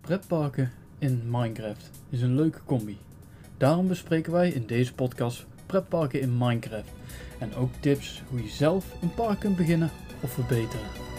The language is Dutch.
Pretparken in Minecraft is een leuke combi. Daarom bespreken wij in deze podcast pretparken in Minecraft en ook tips hoe je zelf een park kunt beginnen of verbeteren.